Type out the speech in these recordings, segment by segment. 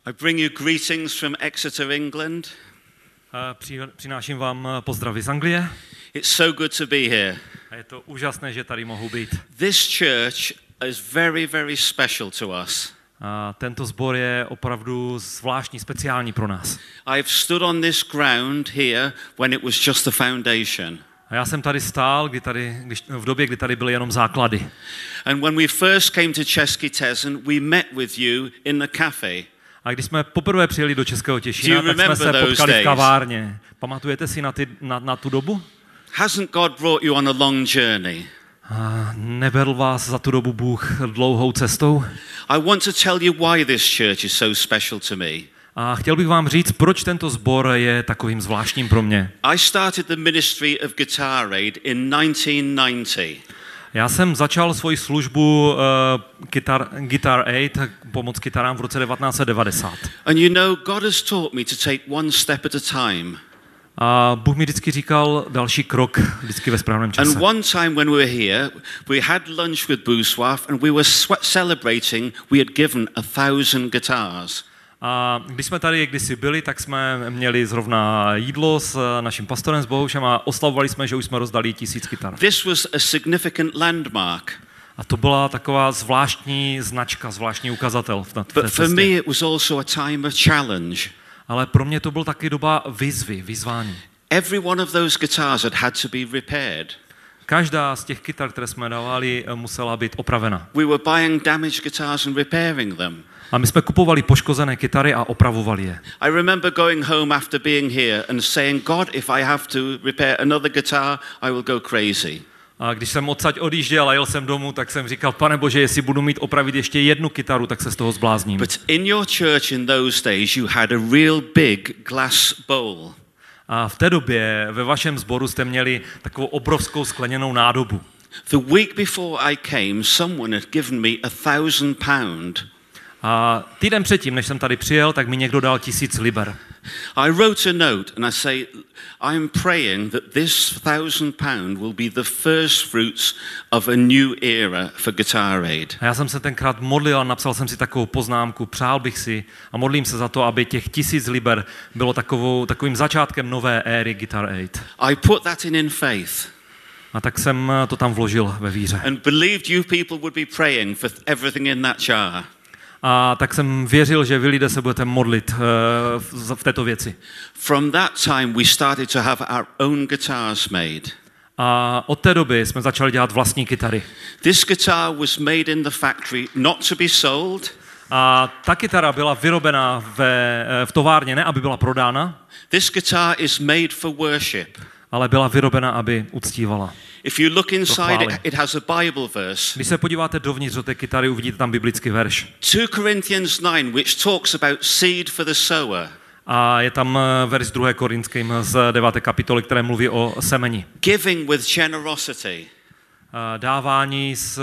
I bring you greetings from Exeter, England. Přináším vám pozdravy z Anglie. It's so good to be here. A je to úžasné, že tady mohu být. This church is very, very special to us. A tento sbor je opravdu zvláštní, speciální pro nás. I've stood on this ground here when it was just the foundation. A já jsem tady stál, v době, kdy tady byly jenom základy. And when we first came to Český Těšín, we met with you in the cafe. A když jsme poprvé přijeli do Českého Těšína, tak jsme se potkali v kavárně. Pamatujete si na tu dobu? Hasn't God brought you on a long journey? A nevedl vás za tu dobu Bůh dlouhou cestou? I want to tell you why this church is so special to me. A chtěl bych vám říct, proč tento sbor je takovým zvláštním pro mě. I started the ministry of Guitar Aid in 1990. Já jsem začal svoji službu Guitar Aid, pomoc kytarám v roce 1990. And you know, God has taught me to take one step at a time. A Bůh mi vždycky říkal další krok, vždycky ve správném čase. And one time when we were here, we had lunch with Boussoif and we were celebrating we had given 1,000 guitars. A když jsme tady kdysi byli, tak jsme měli zrovna jídlo s naším pastorem, s Bohušem a oslavovali jsme, že už jsme rozdali 1000 kytar. This was a significant landmark. A to byla taková zvláštní značka, zvláštní ukazatel na té But for me it was also a time of challenge. Ale pro mě to byl taky doba vyzvání. Every one of those guitars had to be repaired. Každá z těch kytar, které jsme dávali, musela být opravena. We were buying damaged guitars and repairing them. A my jsme kupovali poškozené kytary a opravovali je. I remember going home after being here and saying, God, if I have to repair another guitar, I will go crazy. A když jsem odsaď odjížděl a jel jsem domů, tak jsem říkal, Pane Bože, jestli budu mít opravit ještě jednu kytaru, tak se z toho zblázním. But in your church in those days you had a real big glass bowl. A v té době ve vašem sboru jste měli takovou obrovskou skleněnou nádobu. The week before I came, someone had given me £1,000. A týden předtím, než jsem tady přijel, tak mi někdo dal 1000 liber. I wrote a note and I say, I'm praying that this £1,000 will be the first fruits of a new era for Guitar Aid. A já jsem se tenkrát modlil a napsal jsem si takovou poznámku, přál bych si a modlím se za to, aby těch 1000 liber bylo takovým začátkem nové éry Guitar Aid. I put that in faith. A tak jsem to tam vložil ve víře. And believed you people would be praying for everything in that jar. A tak jsem věřil, že vy lidé se budete modlit v této věci. From that time we started to have our own guitars made. A od té doby jsme začali dělat vlastní kytary. This guitar was made in the factory not to be sold. A ta kytara byla vyrobena v továrně, ne aby byla prodána. This guitar is made for worship. Ale byla vyrobena, aby uctívala. If you look inside, it has a Bible verse. Když se podíváte dovnitř do té kytary, uvidíte tam biblický verš. 2 Corinthians 9, which talks about seed for the sower. A je tam verš 2. Korinským z 9. kapitoly, které mluví o semeni. Giving with generosity. Dávání s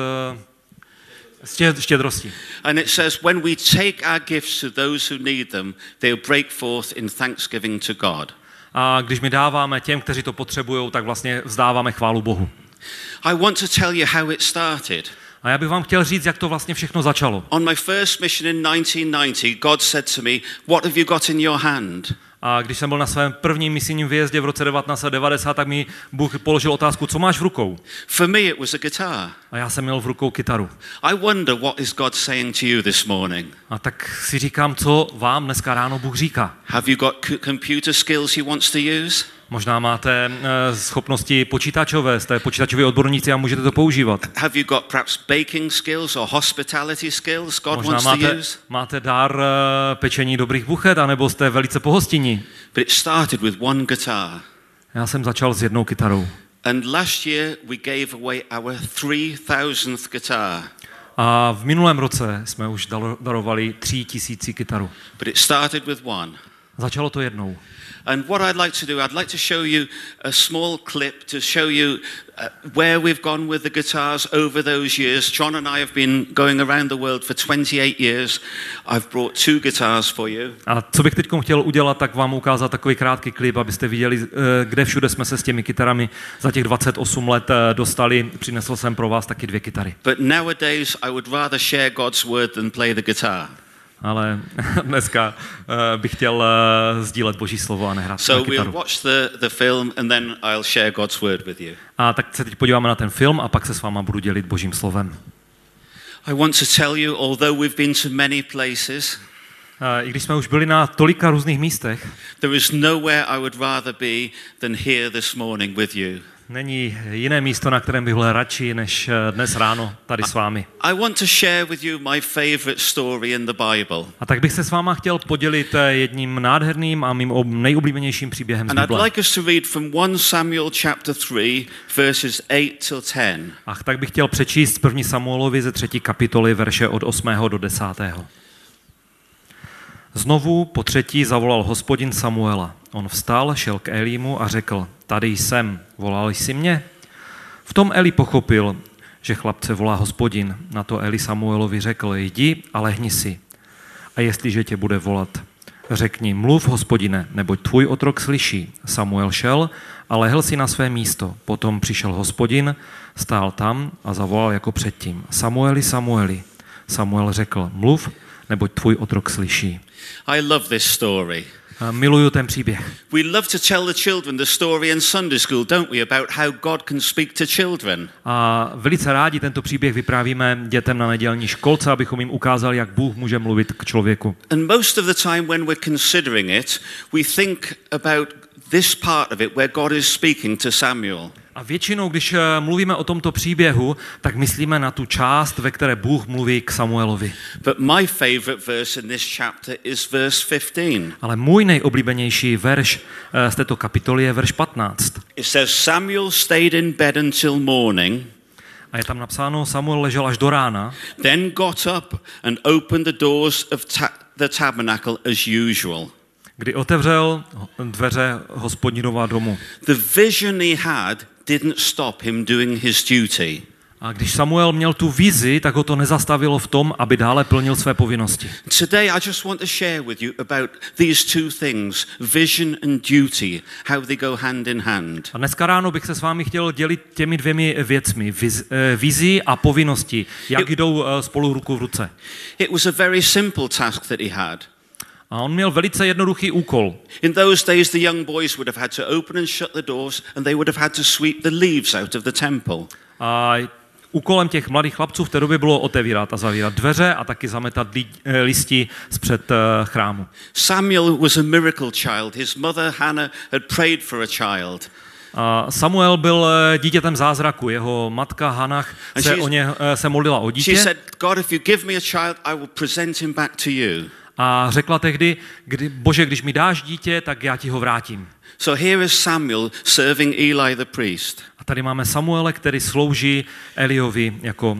štědrostí. And it says, when we take our gifts to those who need them, they'll break forth in thanksgiving to God. A když my dáváme těm, kteří to potřebují, tak vlastně vzdáváme chválu Bohu. I want to tell you how it started. A já bych vám chtěl říct, jak to vlastně všechno začalo. On my first mission in 1990, God said to me, what have you got in your hand? A když jsem byl na svém prvním misijním výjezdě v roce 1990, tak mi Bůh položil otázku, co máš v rukou? For me it was a guitar. A já jsem měl v rukou kytaru. I wonder what is God saying to you this morning. A tak si říkám, co vám dneska ráno Bůh říká. Have you got computer skills he wants to use? Možná máte schopnosti počítačové, jste počítačoví odborníci a můžete to používat. Have you got perhaps baking skills or hospitality skills God možná wants to use? Máte dar pečení dobrých buchet, anebo jste velice pohostinní. But it started with one guitar. Já jsem začal s jednou kytarou. And last year we gave away our 3000th guitar. A v minulém roce jsme už darovali 3000 kytaru. But it started with one. Začalo to jednou. And what I'd like to do, I'd like to show you a small clip to show you where we've gone with the guitars over those years. John and I have been going around the world for 28 years. I've brought 2 guitars for you. A co bych teď chtěl udělat, tak vám ukázat takový krátký klip, abyste viděli, kde všude jsme se s těmi kytarami za těch 28 let dostali. Přinesl jsem pro vás taky 2 kytary. But nowadays I would rather share God's word than play the guitar. ale dneska bych chtěl sdílet Boží slovo a nehrát na So we'll kytaru. watch the film and then I'll share God's word with you. A tak se teď podíváme na ten film a pak se s váma budu dělit Božím slovem. I want to tell you, although we've been to many places, I když jsme už byli na tolika různých místech, there is nowhere I would rather be than here this morning with you. není jiné místo, na kterém bych byl radši, než dnes ráno tady s vámi. I want to share with you my favorite story in the Bible. A tak bych se s váma chtěl podělit jedním nádherným a mým nejoblíbenějším příběhem z And I'd Bible. like us to read from 1 Samuel chapter 3, verses 8 till 10. A tak bych chtěl přečíst 1. Samuelovi ze 3. kapitoly, verše od 8. do 10. Znovu po třetí zavolal Hospodin Samuela. On vstal, šel k Elímu a řekl, tady jsem, volal jsi mě? V tom Eli pochopil, že chlapce volá Hospodin. Na to Eli Samuelovi řekl, jdi a lehni si. A jestliže tě bude volat, řekni, mluv, Hospodine, neboť tvůj otrok slyší. Samuel šel a lehl si na své místo. Potom přišel Hospodin, stál tam a zavolal jako předtím. Samueli, Samueli. Samuel řekl, mluv, neboť tvůj otrok slyší. I love this story. Miluju ten příběh. We love to tell the children the story in Sunday school, don't we, about how God can speak to children. A velice rádi tento příběh vyprávíme dětem na nedělní školce, abychom jim ukázali, jak Bůh může mluvit k člověku. And most of the time when we're considering it, we think about this part of it where God is speaking to Samuel. A většinou, když mluvíme o tomto příběhu, tak myslíme na tu část, ve které Bůh mluví k Samuelovi. But my favorite verse in this chapter is verse 15. Ale můj nejoblíbenější verš z této kapitoly je verš 15. It says, Samuel stayed in bed until morning, A je tam napsáno, Samuel ležel až do rána, then got up and opened the doors of the tabernacle as usual. kdy otevřel dveře Hospodinova domu. The vision he had didn't stop him doing his duty. A když Samuel měl tu vizi, tak ho to nezastavilo v tom, aby dále plnil své povinnosti. Today I just want to share with you about these two things, vision and duty, how they go hand in hand. A dneska ráno bych se s vámi chtěl dělit těmi dvěmi věcmi, vizí a povinnosti, jak jdou spolu ruku v ruce. It was a very simple task that he had. A on měl velice jednoduchý úkol. In those days the young boys would have had to open and shut the doors and they would have had to sweep the leaves out of the temple. A úkolem těch mladých chlapců v té době bylo otevírat a zavírat dveře a taky zametat listi zpřed chrámu. Samuel was a miracle child. His mother Hannah had prayed for a child. A Samuel byl dítětem zázraku. Jeho matka Hannah se modlila o She dítě said, God, if you give me a child, I will present him back to you. a řekla tehdy, Bože, když mi dáš dítě, tak já ti ho vrátím. So here is Samuel serving Eli the priest. A tady máme Samuele, který slouží Eliovi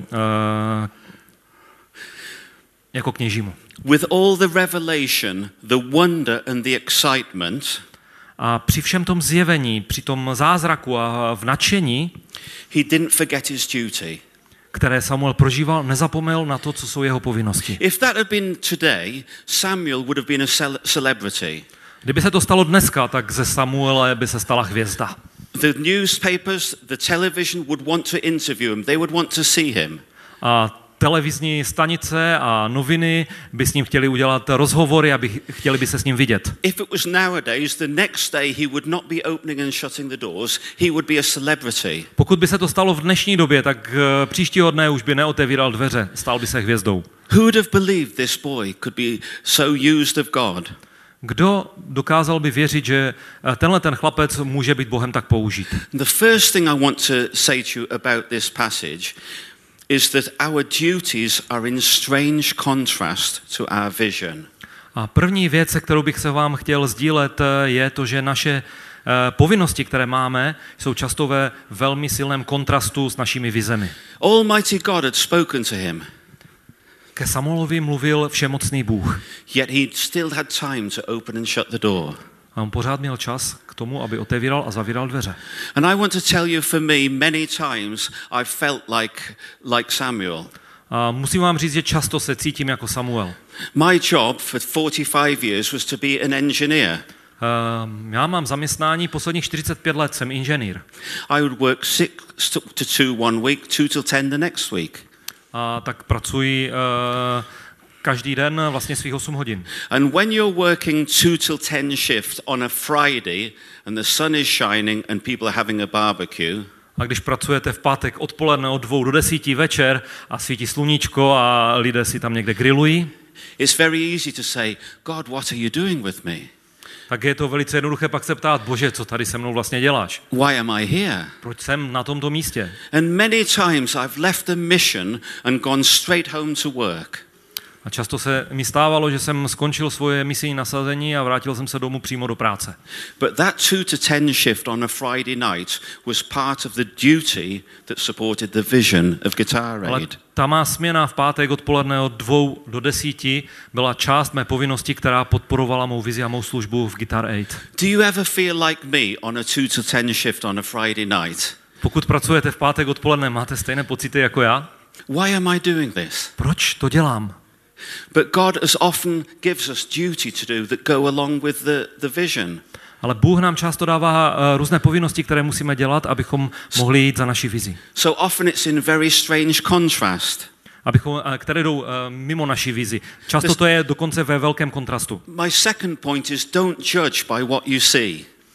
jako kněžímu. With all the revelation, the wonder and the excitement, A při všem tom zjevení, při tom zázraku a v nadšení, he didn't forget his duty. které Samuel prožíval, nezapomněl na to, co jsou jeho povinnosti. If that had been today, Samuel would have been a celebrity. Kdyby se to stalo dneska, tak ze Samuele by se stala hvězda. The newspapers, the television would want to interview him. They would want to see him. A televizní stanice a noviny by s ním chtěli udělat rozhovory, chtěli by se s ním vidět. If it was nowadays, the next day he would not be opening and shutting the doors. He would be a celebrity. Pokud by se to stalo v dnešní době, tak příštího dne už by neotevíral dveře, stal by se hvězdou. Who would have believed this boy could be so used of God? Kdo dokázal by věřit, že tenhle ten chlapec může být Bohem tak použít? The first thing I want to say to you about this passage is that our duties are in strange contrast to our vision. A první věc, se kterou bych se vám chtěl sdílet, je to, že naše povinnosti, které máme, jsou často ve velmi silném kontrastu s našimi vizemi. Almighty God had spoken to him, Ke Samuelovi mluvil všemocný Bůh. yet he still had time to open and shut the door. A on pořád měl čas k tomu, aby otevíral a zavíral dveře. And I want to tell you, for me, many times I felt like Samuel. A musím vám říct, že často se cítím jako Samuel. My job for 45 years was to be an engineer. Já mám zaměstnání posledních 45 let, jsem inženýr. I would work 6 to 2 one week, 2 till 10 the next week. A tak pracuji každý den vlastně svých 8 hodin. And when you're working 2 till 10 shift on a Friday and the sun is shining and people are having a barbecue, A když pracujete v pátek odpoledne od 2 do 10 večer a svítí sluníčko a lidé si tam někde grillují, it's very easy to say, God, what are you doing with me? tak je to velice jednoduché pak se ptát, Bože, co tady se mnou vlastně děláš? Why am I here? Proč jsem na tomto místě? And many times I've left the mission and gone straight home to work. A často se mi stávalo, že jsem skončil svoje misijní nasazení a vrátil jsem se domů přímo do práce. But that 2 to 10 shift on a Friday night was part of the duty that supported the vision of Guitar Ale Aid. ta má směna v pátek odpoledne od 2 do 10 byla část mé povinnosti, která podporovala mou vizi a mou službu v Guitar Aid. Do you ever feel like me on a 2 to 10 shift on a Friday night? Pokud pracujete v pátek odpoledne, máte stejné pocity jako já? Why am I doing this? Proč to dělám? But God as often gives us duty to do that go along with the vision. Ale Bůh nám často dává různé povinnosti, které musíme dělat, abychom mohli jít za naší vizi. So often it's in very strange contrast. Které jdou mimo naší vizi. Často to je dokonce ve velkém kontrastu. My second point is don't judge by what you see.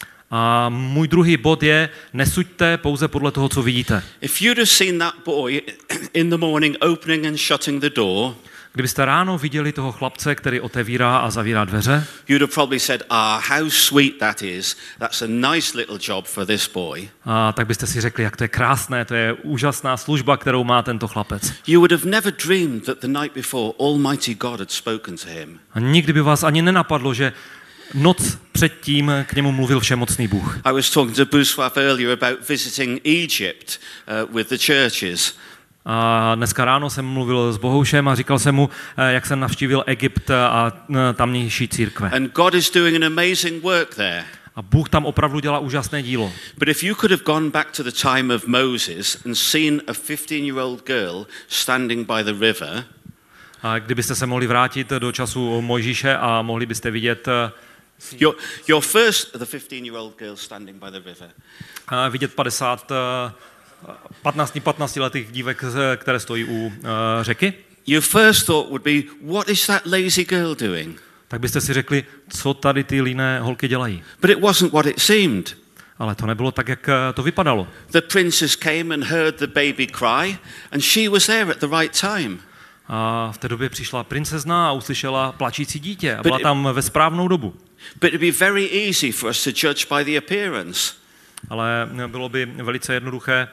A můj druhý bod je, nesuďte pouze podle toho, co vidíte. If you'd have seen that boy in the morning opening and shutting the door, Kdybyste ráno viděli toho chlapce, který otevírá a zavírá dveře, you'd have probably said, how sweet that is. That's a nice little job for this boy. tak byste si řekli, jak to je krásné, to je úžasná služba, kterou má tento chlapec. You would have never dreamed that the night before Almighty God had spoken to him. A nikdy by vás ani nenapadlo, že noc předtím k němu mluvil všemocný Bůh. I was talking to Bouswaf earlier about visiting Egypt with the churches. A dneska ráno jsem mluvil s Bohoušem a říkal jsem mu, jak jsem navštívil Egypt a tamnější církve. And God is doing an amazing work there. A Bůh tam opravdu dělá úžasné dílo. But if you could have gone back to the time of Moses and seen a 15-year-old girl standing by the river, A kdybyste se mohli vrátit do času Mojžíše a mohli byste vidět your first, the 15-year-old girl standing by the river. Vidět 15letých dívek, které stojí u řeky, Your first thought would be, what is that lazy girl doing? tak byste si řekli, co tady ty líné holky dělají. But it wasn't what it seemed. Ale to nebylo tak, jak to vypadalo. The princess came and heard the baby cry, and she was there at the right time. A v té době přišla princezna a uslyšela plačící dítě a byla tam ve správnou dobu. But it'd be very easy for us to judge by the appearance. Ale bylo by velice jednoduché.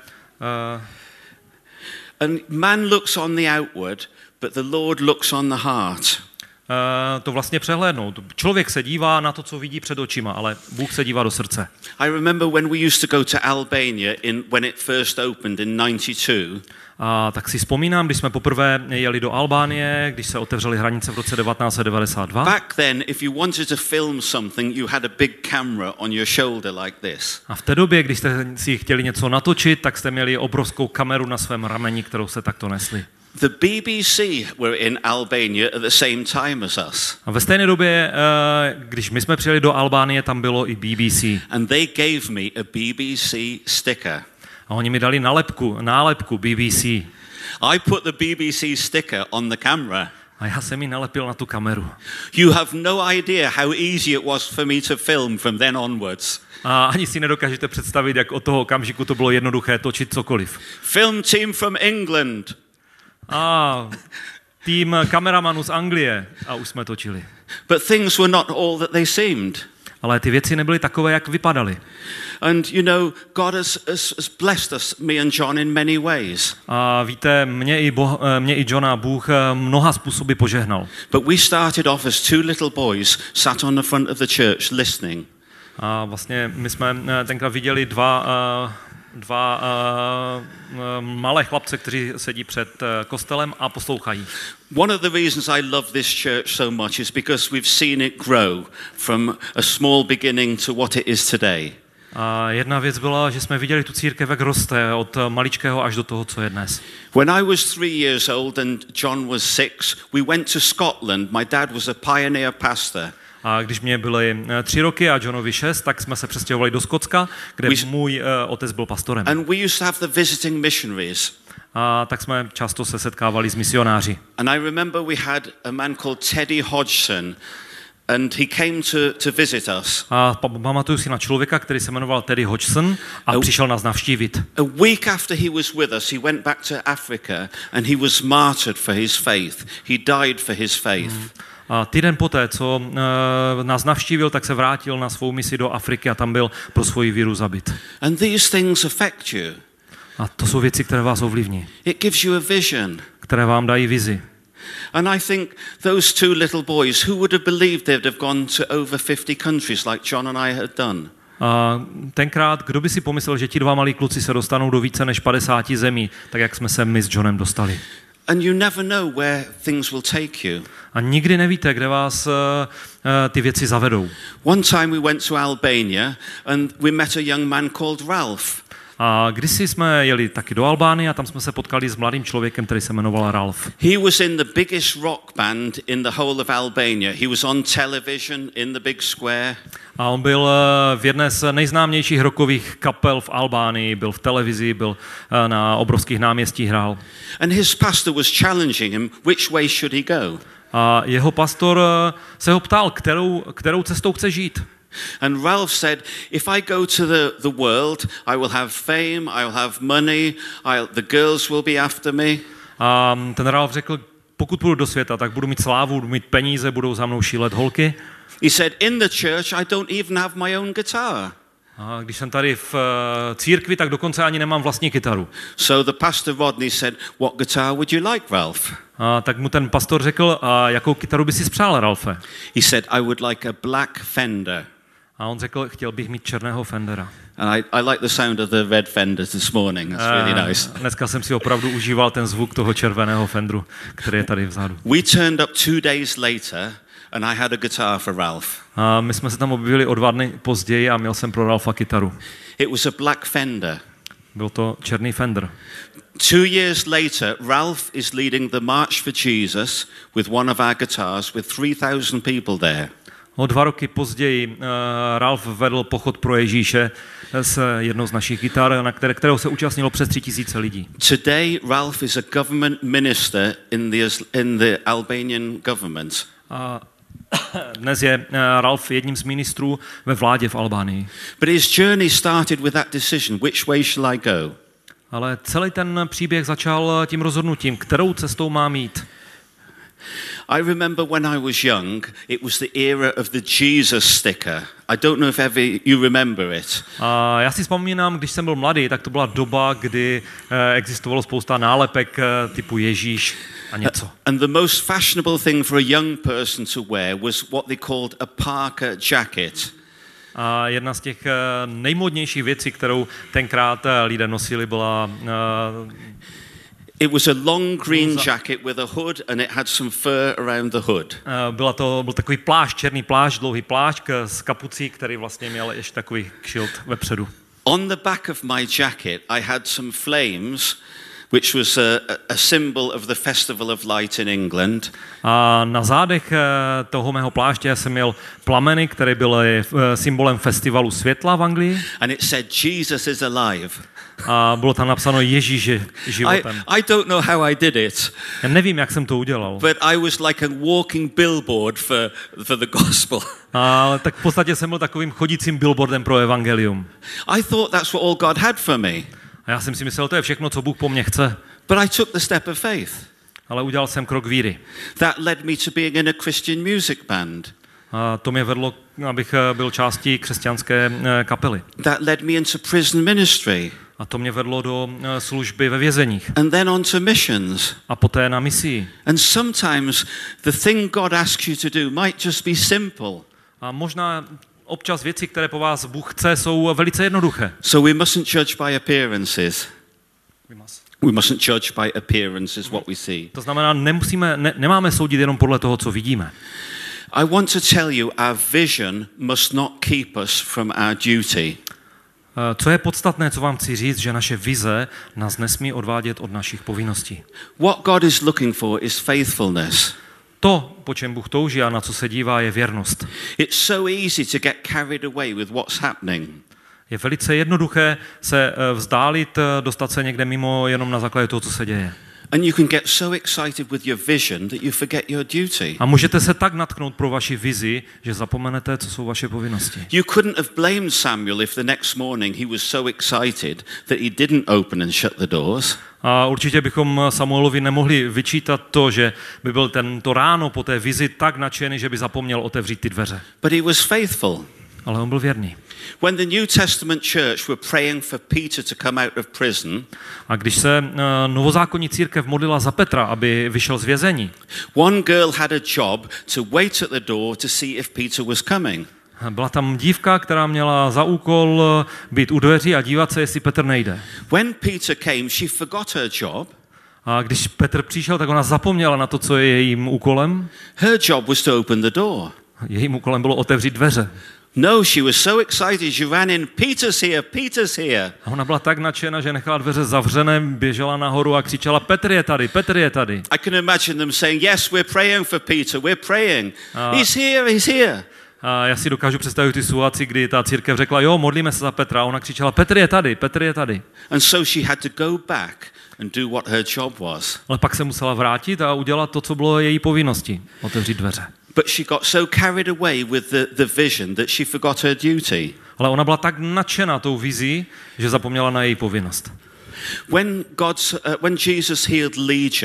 And man looks on the outward, but the Lord looks on the heart. To vlastně přehlédnout. Člověk se dívá na to, co vidí před očima, ale Bůh se dívá do srdce. I remember when we used to go to Albania when it first opened in 92. A tak si vzpomínám, když jsme poprvé jeli do Albánie, když se otevřely hranice v roce 1992. Back then, if you wanted to film something, you had a big camera on your shoulder like this. A v té době, když jste si chtěli něco natočit, tak jste měli obrovskou kameru na svém rameni, kterou se takto nesli. The BBC were in Albania at the same time as us. A ve stejné době, když my jsme přijeli do Albánie, tam bylo i BBC. And they gave me a BBC sticker. A oni mi dali nálepku BBC. I put the BBC sticker on the camera. A já jsem ji nalepil na tu kameru. You have no idea how easy it was for me to film from then onwards. A ani si nedokážete představit, jak od toho okamžiku to bylo jednoduché točit cokoliv. Film team from England. A tým kameramanů z Anglie a už jsme točili. But things were not all that they seemed. Ale ty věci nebyly takové, jak vypadaly. And you know, God has blessed us, me and John, in many ways. A víte, mě i Johna Bůh mnoha způsoby požehnal. But we started off as 2 little boys sat on the front of the church listening. A vlastně my jsme tenkrát viděli dva malé chlapce, kteří sedí před kostelem a poslouchají. One of the reasons I love this church so much is because we've seen it grow from a small beginning to what it is today. A jedna věc byla, že jsme viděli tu církev, jak roste od maličkého až do toho, co je dnes. When I was 3 years old and John was 6, we went to Scotland. My dad was a pioneer pastor. A když mě byly 3 roky a Johnovi 6, tak jsme se přestěhovali do Skotska, kde můj otec byl pastorem. And we used to have the visiting missionaries. A tak jsme často se setkávali s misionáři. And I remember we had a man called Teddy Hodgson, and he came to visit us. A pamatuju si na člověka, který se jmenoval Teddy Hodgson a přišel nás navštívit. A week after he was with us, he went back to Africa and he was martyred for his faith. He died for his faith. A týden poté, co nás navštívil, tak se vrátil na svou misi do Afriky a tam byl pro svoji víru zabit. And these things affect you. A to jsou věci, které vás ovlivní. It gives you a vision. Které vám dají vizi. And I think those two little boys, who would have believed they'd have gone to over 50 countries like John and I had done? A tenkrát, kdo by si pomyslel, že ti dva malí kluci se dostanou do více než 50 zemí, tak jak jsme se my s Johnem dostali. And you never know where things will take you. A nikdy nevíte, kde vás ty věci zavedou. One time we went to Albania and we met a young man called Ralph. A kdysi jsme jeli taky do Albánie a tam jsme se potkali s mladým člověkem, který se jmenoval Ralph. He was in the biggest rock band in the whole of Albania. He was on television in the big square. A on byl v jedné z nejznámějších rockových kapel v Albánii, byl v televizi, byl na obrovských náměstích hrál. And his pastor was challenging him, which way should he go? A jeho pastor se ho ptal, kterou cestou chce žít. And Ralph said, if I go to the world, I will have fame, I will have money, the girls will be after me. A ten Ralph řekl, pokud půjdu do světa, tak budu mít slávu, budu mít peníze, budou za mnou šílet holky. He said, in the church I don't even have my own guitar. A když jsem tady v církvi, tak dokonce ani nemám vlastní kytaru. So the pastor Rodney said, what guitar would you like, Ralph? A tak mu ten pastor řekl, a jakou kytaru by si spřál, Ralfe? He said, I would like a black Fender. A on řekl, chtěl bych mít černého Fendera. And I like the sound of the red Fenders this morning. That's really nice. Dneska jsem si opravdu užíval ten zvuk toho červeného Fenderu, který je tady vzadu. We turned up 2 days later and I had a guitar for Ralph. A my jsme se tam objevili o 2 dny později a měl jsem pro Ralfa kytaru. It was a black Fender. Byl to černý Fender. 2 years later, Ralph is leading the March for Jesus with one of our guitars with 3,000 people there. O 2 roky později Ralph vedl pochod pro Ježíše s jednou z našich kytar, na kterého se účastnilo přes 3,000 lidí. Today, Ralph is a government minister in the Albanian government. A dnes je Ralph jedním z ministrů ve vládě v Albánii. But his journey started with that decision, which way shall I go? Ale celý ten příběh začal tím rozhodnutím, kterou cestou mám jít. I remember when I was young, it was the era of the Jesus sticker. I don't know if ever you remember it. A já si vzpomínám, když jsem byl mladý, tak to byla doba, kdy existovalo spousta nálepek typu Ježíš a něco. And the most fashionable thing for a young person to wear was what they called a Parker jacket. A jedna z těch nejmodnějších věcí, kterou tenkrát lidé nosili, byla it was a long green jacket with a hood and it had some fur around the hood. Byl takový plášť, černý plášť, dlouhý plášť s kapucí, který vlastně měl ještě takový kšilt vepředu. On the back of my jacket I had some flames, which was a symbol of the Festival of Light in England. A na zádech toho mého pláště jsem měl plameny, které byly symbolem festivalu světla v Anglii. And it said Jesus is alive. A bylo tam napsáno Ježíš je životem. I don't know how I did it. Já nevím, jak jsem to udělal. But I was like a walking billboard for the gospel. Ale tak v podstatě jsem byl takovým chodícím billboardem pro evangelium. I thought that's what all God had for me. A já jsem si myslel, to je všechno, co Bůh po mně chce. But I took the step of faith. Ale udělal jsem krok víry. That led me to being in a Christian music band. A to mě vedlo, abych byl částí křesťanské kapely. That led me into prison ministry. A to mě vedlo do služby ve vězeních. And then on to missions. A poté na misii. And sometimes the thing God asks you to do might just be simple. A možná občas věci, které po vás Bůh chce, jsou velice jednoduché. So we mustn't judge by appearances. We mustn't judge by appearances what we see. To znamená, nemáme soudit jenom podle toho, co vidíme. I want to tell you, our vision must not keep us from our duty. Co je podstatné, co vám chci říct, že naše vize nás nesmí odvádět od našich povinností. What God is looking for is faithfulness. To, po čem Bůh touží a na co se dívá, je věrnost. It's so easy to get carried away with what's happening. Je velice jednoduché se vzdálit, dostat se někde mimo jenom na základě toho, co se děje. And you can get so excited with your vision that you forget your duty. A můžete se tak natknout pro vaši vizi, že zapomenete, co jsou vaše povinnosti. You couldn't have blamed Samuel if the next morning he was so excited that he didn't open and shut the doors. A určitě bychom Samuelovi nemohli vyčítat to, že by byl tento ráno po té vizi tak nadšený, že by zapomněl otevřít ty dveře. But he was faithful. Ale on byl věrný. When the New Testament church were praying for Peter to come out of prison, a když se novozákonní církev modlila za Petra, aby vyšel z vězení, one girl had a job to wait at the door to see if Peter was coming. Byla tam dívka, která měla za úkol být u dveří a dívat se, jestli Petr nejde. When Peter came, she forgot her job. A když Petr přišel, tak ona zapomněla na to, co je jejím úkolem. Her job was to open the door. Jejím úkolem bylo otevřít dveře. No, she was so excited, she ran in, Peter's here, Peter's here. A ona byla tak nadšená, že nechala dveře zavřené, běžela nahoru a křičela, Petr je tady, Petr je tady. I can imagine them saying, yes, we're praying for Peter, we're praying. He's here, he's here. A já si dokážu představit tu situaci, kdy ta církev řekla, jo, modlíme se za Petra, a ona křičela, Petr je tady, Petr je tady. And so she had to go back and do what her job was. Ale pak se musela vrátit a udělat to, co bylo její povinností, otevřít dveře. But she got so carried away with the vision that she forgot her duty. Ale ona byla tak nadšená tou vizí, že zapomněla na její povinnost. When Jesus healed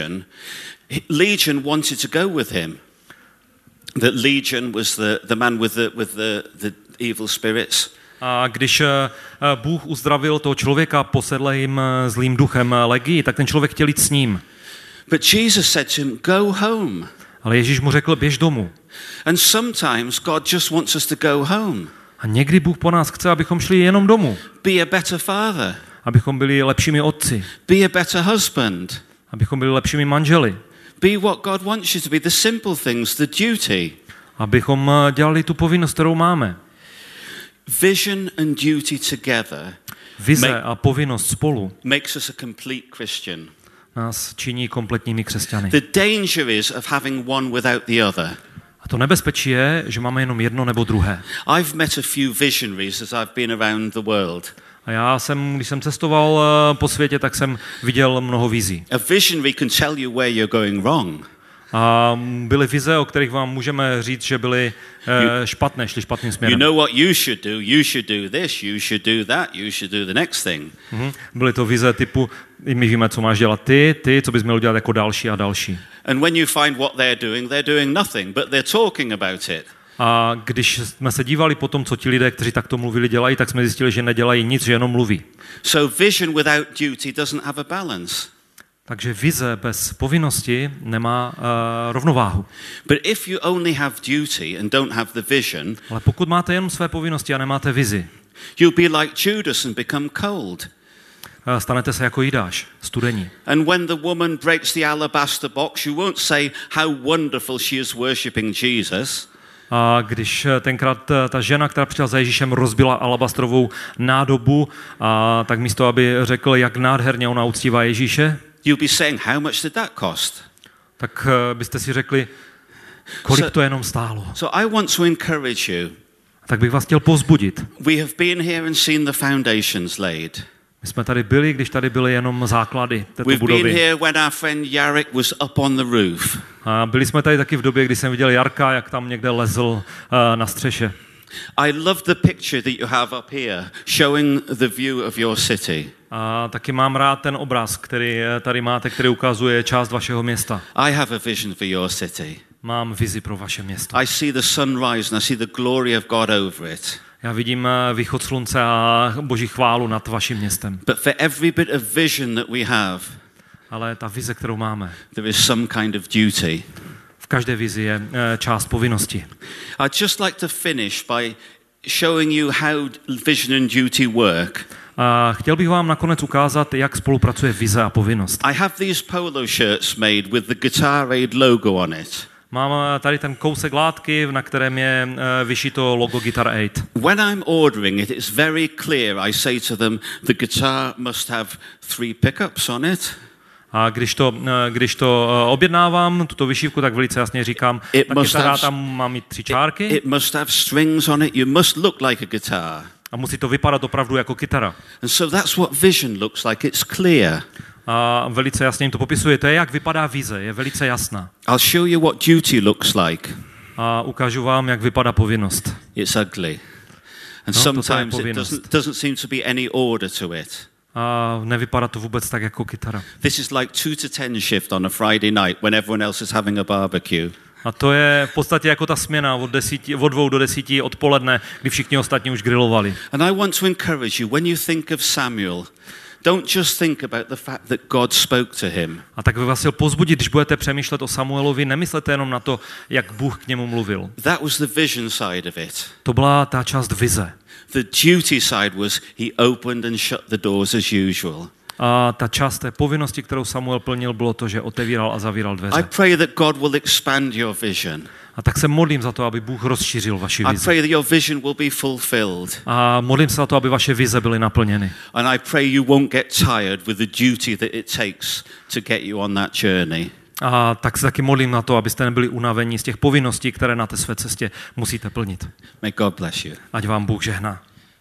Legion wanted to go with him. That Legion was the man with the evil spirits. A když Bůh uzdravil toho člověka posedlým zlým duchem Legii, tak ten člověk chtěl jít s ním. But Jesus said to him, go home. Ale Ježíš mu řekl, běž domů. And sometimes God just wants us to go home. A někdy Bůh po nás chce, abychom šli jenom domů. Be a better father. Abychom byli lepšími otci. Be a better husband. Abychom byli lepšími manželi. Be what God wants you to be, the simple things, the duty. Abychom dělali tu povinnost, kterou máme. Vision and duty together. Vize a povinnost spolu makes us a complete Christian. Nás činí kompletními křesťany. The danger is of having one without the other. A to nebezpečí je, že máme jenom jedno nebo druhé. I've met a few visionaries as I've been around the world. A když jsem cestoval po světě, tak jsem viděl mnoho vizí. A visionary can tell you where you're going wrong. A byly vize, o kterých vám můžeme říct, že byly špatné, šli špatným směrem. You know what you should do this, you should do that, you should do the next thing. Byly to vize typu, my víme, co máš dělat ty, co bys měl dělat jako další a další. And when you find what they're doing nothing, but they're talking about it. A když jsme se dívali po tom, co ti lidé, kteří takto mluvili, dělají, tak jsme zjistili, že nedělají nic, že jenom mluví. So vision without duty doesn't have a balance. Takže vize bez povinnosti nemá rovnováhu. But if you only have duty and don't have the vision, ale pokud máte jenom své povinnosti a nemáte vizi, you'll be like Judas and become cold. Stanete se jako Jidáš, studení. And when the woman breaks the alabaster box, you won't say how wonderful she is worshiping Jesus. A když tenkrát ta žena, která přišla za Ježíšem, rozbila alabastrovou nádobu, tak místo, aby řekl, jak nádherně ona uctívá Ježíše, you'll be saying, how much did that cost? Tak byste si řekli, kolik to jenom stálo. So I want to encourage you. Tak bych vás chtěl povzbudit. We have been here and seen the foundations laid. My jsme tady byli, když tady byly jenom základy této budovy. We've been here when our friend Jarek was up on the roof. A byli jsme tady taky v době, kdy jsem viděl Jarka, jak tam někde lezl na střeše. I love the picture that you have up here, showing the view of your city. A taky mám rád ten obraz, který tady máte, který ukazuje část vašeho města. I have a vision for your city. Mám vizi pro vaše město. I see the sunrise and I see the glory of God over it. Já vidím východ slunce a Boží chválu nad vaším městem. But for every bit of vision that we have, ale ta vize, kterou máme, there is some kind of duty. V každé vizi je část povinnosti. I'd just like to finish by showing you how vision and duty work. A chtěl bych vám nakonec ukázat, jak spolupracuje vize a povinnost. I have these polo shirts made with the Guitar Aid logo on it. Mám tady ten kousek látky, na kterém je vyšito logo Guitar Aid. When I'm ordering it, it's very clear. I say to them, the guitar must have 3 pickups on it. A když to objednávám, tuto vyšívku, tak velice jasně říkám, ta kytara tam má mít 3 čárky. It must have strings on it. You must look like a guitar. A a musí to vypadat opravdu jako kytara. And so that's what vision looks like. It's clear. A velice jasně jim to popisuje. To je, jak vypadá vize, je velice jasná. I'll show you what duty looks like. A ukážu vám, jak vypadá povinnost. It's ugly. And No, sometimes toto je it povinnost. doesn't seem to be any order to it. A nevypadá to vůbec tak jako kytara. This is like 2 to 10 shift on a Friday night when everyone else is having a barbecue. A to je v podstatě jako ta směna od 2 do 10 odpoledne, kdy všichni ostatní už grilovali. And I want to encourage you, when you think of Samuel, don't just think about the fact that God spoke to him. A tak bych vás chtěl povzbudit, když budete přemýšlet o Samuelovi, nemyslete jenom na to, jak Bůh k němu mluvil. That was the vision side of it. To byla ta část vize. The duty side was he opened and shut the doors as usual. A ta část té povinnosti, kterou Samuel plnil, bylo to, že otevíral a zavíral I dveře. pray that God will expand your vision. A tak se modlím za to, aby Bůh rozšířil vaši I vizi. pray that your vision will be fulfilled. A modlím se za to, aby vaše vize byly naplněny. And I pray you won't get tired with the duty that it takes to get you on that journey. A tak se taky modlím na to, abyste nebyli unavení z těch povinností, které na té své cestě musíte plnit. May God bless you. Ať vám Bůh žehná.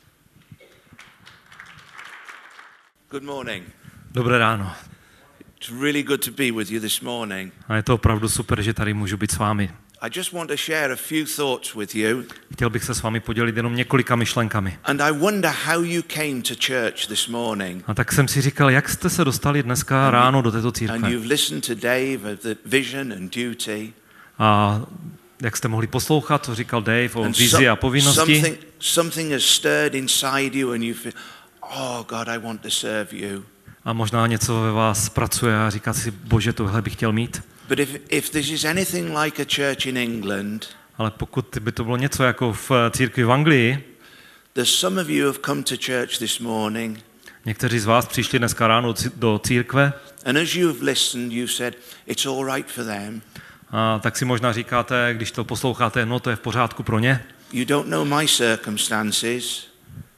Good morning. Dobré ráno. It's really good to be with you this morning. A je to opravdu super, že tady můžu být s vámi. I just want to share a few thoughts with you. Chtěl bych se s vámi podělit jenom několika myšlenkami. And I wonder how you came to church this morning. A tak jsem si říkal, jak jste se dostali dneska ráno do této And církve. you've listened to Dave of the vision and duty. A jak jste mohli poslouchat, co říkal Dave o And vizi a povinnosti. something has stirred inside you and you feel, oh God, I want to serve you. A možná něco ve vás pracuje a říká si, Bože, tohle bych chtěl mít. But if this is anything like a church in England, Ale pokud by to bylo něco jako v církvi v Anglii, there's some of you who have come to church this morning, někteří z vás přišli dneska ráno do církve, and as you've listened, you've said, it's all right for them. a tak si možná říkáte, když to posloucháte, no to je v pořádku pro ně. You don't know my circumstances,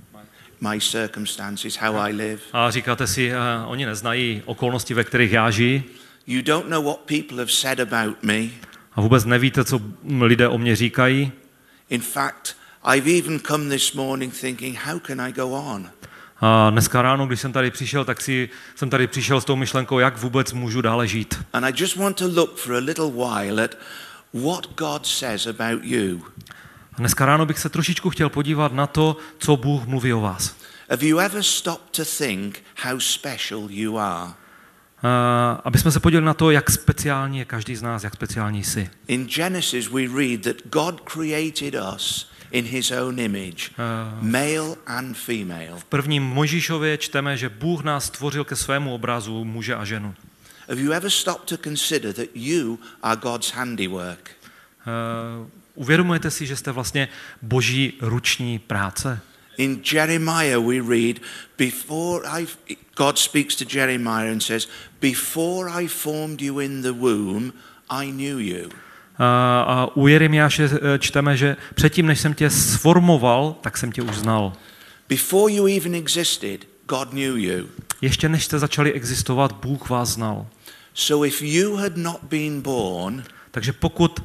how I live. A říkáte si, oni neznají okolnosti, ve kterých já žiji. You don't know what people have said about me. A vůbec nevíte, co lidé o mě říkají. In fact, I've even come this morning thinking, how can I go on? A dneska ráno, když jsem tady přišel, tak jsem tady přišel s tou myšlenkou, jak vůbec můžu dále žít. And I just want to look for a little while at what God says about you. A dneska ráno bych se trošičku chtěl podívat na to, co Bůh mluví o vás. Have you ever stopped to think how special you are? Aby jsme se podívali na to, jak speciální je každý z nás, jak speciální jsi. In Genesis we read that God created us in his own image, male and female. V prvním Mojžíšově čteme, že Bůh nás stvořil ke svému obrazu muže a ženu. Have you ever stopped to consider that you are God's handiwork? Uvědomujete si, že jste vlastně Boží ruční práce? In Jeremiah we read, God speaks to Jeremiah and says, before I formed you in the womb, I knew you. A u Jeremiáše čteme, že předtím, než jsem tě sformoval, tak jsem tě už znal. Before you even existed, God knew you. Ještě než jste začali existovat, Bůh vás znal. So if you had not been born, takže pokud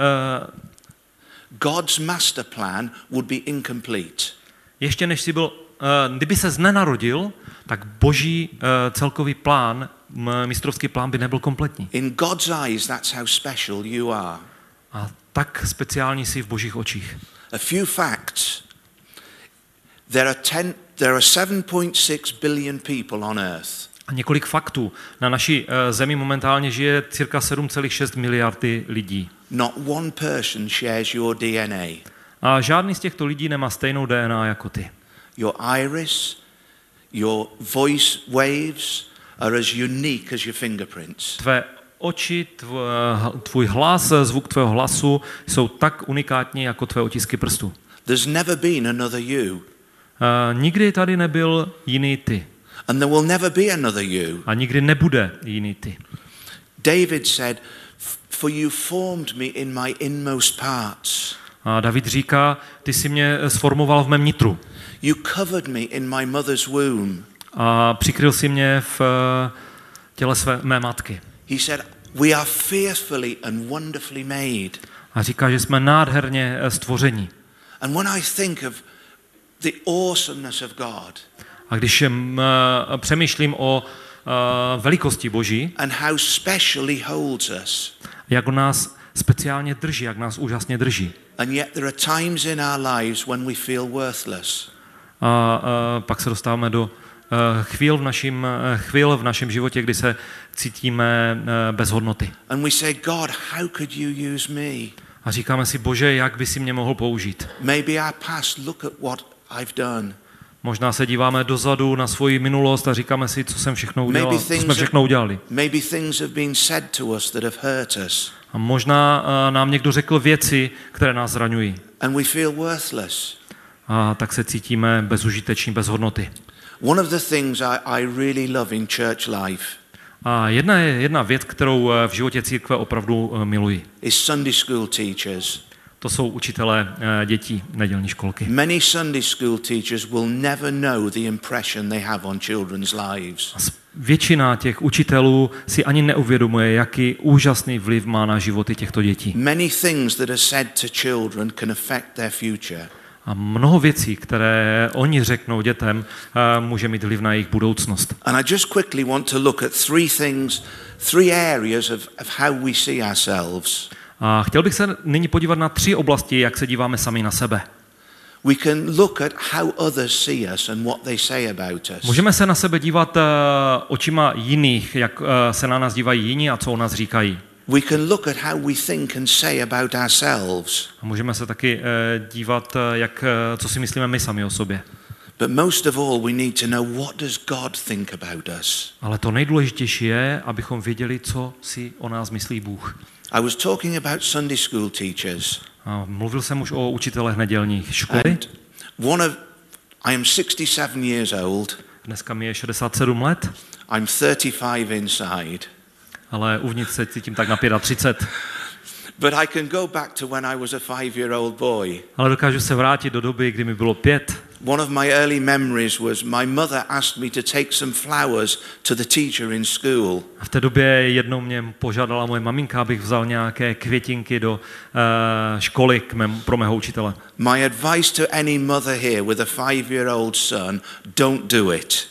God's master plan would be incomplete. Ještě než jsi byl, kdyby ses nenarodil, tak Boží celkový plán, mistrovský plán by nebyl kompletní. In God's eyes, that's how special you are. A tak speciální jsi v Božích očích. A few facts. There are 7.6 billion people on earth. A několik faktů. Na naší zemi momentálně žije cirka 7,6 miliardy lidí. Not one person shares your DNA. A žádný z těchto lidí nemá stejnou DNA jako ty. Your iris, your voice waves are as unique as your fingerprints. Tvé oči, tvůj hlas, zvuk tvého hlasu jsou tak unikátní jako tvé otisky prstů. There's never been another you. Nikdy tady nebyl jiný ty. And there will never be another you. A nikdy nebude jiný ty. David said, for you formed me in my inmost parts. A David říká, ty jsi mě sformoval v mém nitru. You covered me in my mother's womb. A přikryl si mě v těle mé matky. He said, we are fearfully and wonderfully made. A říká, že jsme nádherně stvoření. And when I think of the awesomeness of God. A když přemýšlím o velikosti Boží, And how special he holds us. jak nás speciálně drží, jak nás úžasně drží. And yet there are times in our lives when we feel worthless. A pak se dostáváme do chvíl v našem životě, kdy se cítíme bez hodnoty. And we say, God, how could you use me? A říkáme si, Bože, jak by si mě mohl použít? Maybe our past, look at what I've done. Možná se díváme dozadu na svoji minulost a říkáme si, co jsem všechno udělal, co jsme všechno udělali. Maybe things have been said to us that have hurt us. A možná nám někdo řekl věci, které nás zraňují. And we feel worthless. A tak se cítíme bezužiteční, bez hodnoty. One of the things I really love in church life A jedna věc, kterou v životě církve opravdu miluji. is Sunday school teachers. To jsou učitelé dětí nedělní školky. Many Sunday school teachers will never know the impression they have on children's lives. Většina těch učitelů si ani neuvědomuje, jaký úžasný vliv má na životy těchto dětí. Many things that are said to children can affect their future. A mnoho věcí, které oni řeknou dětem, může mít vliv na jejich budoucnost. And I just quickly want to look at three areas of how we see ourselves. A chtěl bych se nyní podívat na 3 oblasti, jak se díváme sami na sebe. We can look at how others see us and what they say about us. Můžeme se na sebe dívat očima jiných, jak se na nás dívají jiní a co o nás říkají. We can look at how we think and say about ourselves. A můžeme se taky dívat, co si myslíme my sami o sobě. But most of all, we need to know, what does God think about us. Ale to nejdůležitější je, abychom věděli, co si o nás myslí Bůh. I was talking about Sunday school teachers. A mluvil jsem už o učitelech nedělních školy. And I am 67 years old. Dneska mi je 67 let, I'm 35 inside. ale uvnitř se cítím tak na 35. But I can go back to when I was a 5-year-old boy. Ale dokážu se vrátit do doby, kdy mi bylo 5. One of my early memories was my mother asked me to take some flowers to the teacher in school. A v té době jednou mě požádala moje maminka, abych vzal nějaké květinky do školy pro mého učitele. My advice to any mother here with a 5-year-old son, don't do it.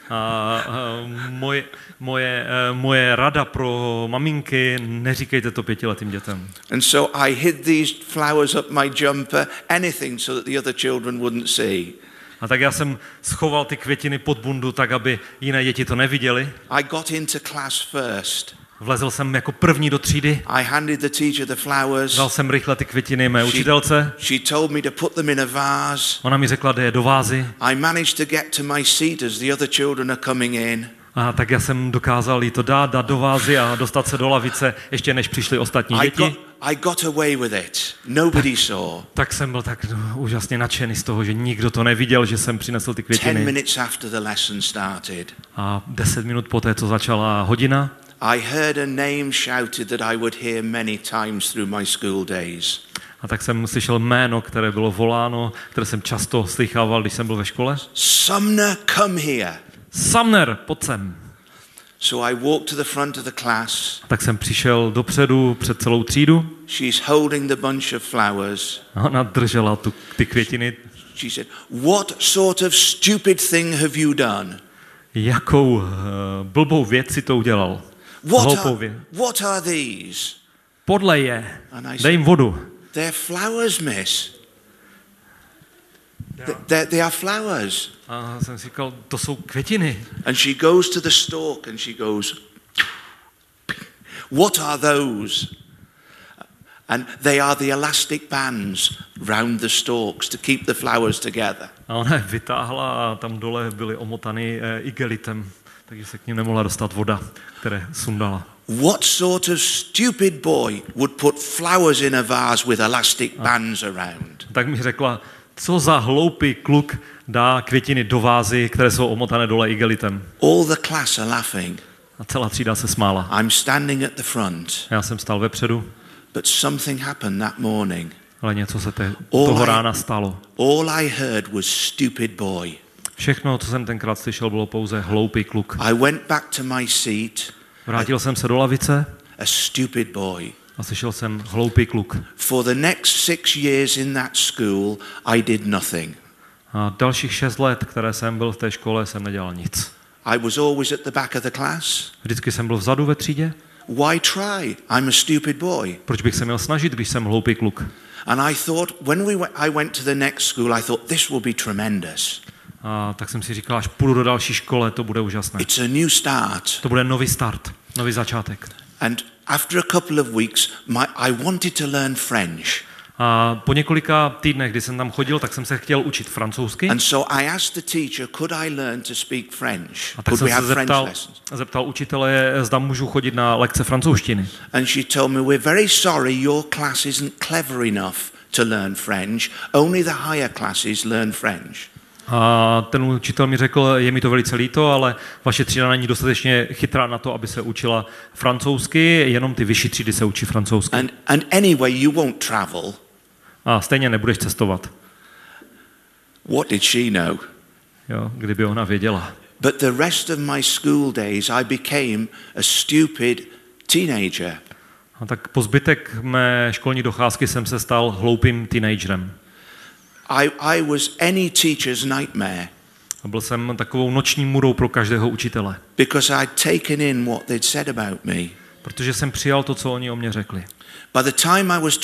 Moje rada pro maminky, neříkejte to 5letým dětem. And so I hid these flowers up my jumper, anything so that the other children wouldn't see. A tak já jsem schoval ty květiny pod bundu, tak aby jiné děti to neviděly. I got into class first. Vlezl jsem jako první do třídy. I handed the teacher the flowers. Dal jsem rychle ty květiny mé učitelce. She told me to put them in a vase. Ona mi řekla, dej je do vázy. I managed to get to my seat as the other children are coming in. A tak já jsem dokázal jí to dát do vázy a dostat se do lavice, ještě než přišly ostatní děti. I got away with it. Nobody saw. Tak jsem byl tak úžasně nadšený z toho, že nikdo to neviděl, že jsem přinesl ty 10 květiny. minutes after the lesson started. A 10 minut poté, co začala hodina, I heard a name shouted that I would hear many times through my school days. a tak jsem slyšel jméno, které bylo voláno, které jsem často slychával, když jsem byl ve škole. Sumner, come here. Sumner, pojď sem. So I walked to the front of the class. Tak jsem přišel dopředu před celou třídu. She's holding the bunch of flowers. A ona držela ty květiny. She said, "What sort of stupid thing have you done?" Jakou blbou věc si to udělal? What are these? Podlej je. And I Dej jim vodu. They're flowers, miss. They are flowers. A jsem si říkal, to jsou květiny. And she goes to the stalk and she goes, "What are those?" And they are the elastic bands round the stalks to keep the flowers together. A ona je vytáhla a tam dole byly omotany igelitem, takže se k ním nemohla dostat voda, které sundala. What sort of stupid boy would put flowers in a vase with elastic bands around? Tak mi řekla, co za hloupý kluk dá květiny do vázy, které jsou omotané dole igelitem. All the class are laughing. A celá třída se smála. I'm standing at the front. Já jsem stál vepředu, But something happened that morning. ale něco se toho rána stalo. All I heard was stupid boy. Všechno, co jsem tenkrát slyšel, bylo pouze hloupý kluk. I went back to my seat. Vrátil jsem se do lavice A stupid boy. a slyšel jsem hloupý kluk. For the next 6 years in that school, I did nothing. A dalších 6 let, které jsem byl v té škole, jsem nedělal nic. I was always at the back of the class. Vždycky jsem byl vzadu ve třídě. Why try? I'm a stupid boy. Proč bych se měl snažit, když jsem hloupý kluk? And I thought, I went to the next school, I thought this will be tremendous. A tak jsem si říkal, až půjdu do další škole, to bude úžasné. It's a new start. To bude nový start, nový začátek. And after a couple of weeks, I wanted to learn French. A po několika týdnech, kdy jsem tam chodil, tak jsem se chtěl učit francouzsky. And so I asked the teacher, could I learn to speak French? A tak jsem se zeptal učitele, zda můžu chodit na lekce francouzštiny. And she told me, we're very sorry, your class isn't clever enough to learn French. Only the higher classes learn French. A ten učitel mi řekl, je mi to velice líto, ale vaše třída není dostatečně chytrá na to, aby se učila francouzsky, jenom ty vyšší třídy se učí francouzsky. And anyway, you won't travel. A stejně nebudeš cestovat. What did she know? Jo, kdyby ona věděla. But the rest of my school days I became a stupid teenager. A tak po zbytek mé školní docházky jsem se stal hloupým teenagerem. I was any teacher's nightmare. A byl jsem takovou noční můrou pro každého učitele. Because I'd taken in what they'd said about me. Protože jsem přijal to, co oni o mě řekli. By the time I was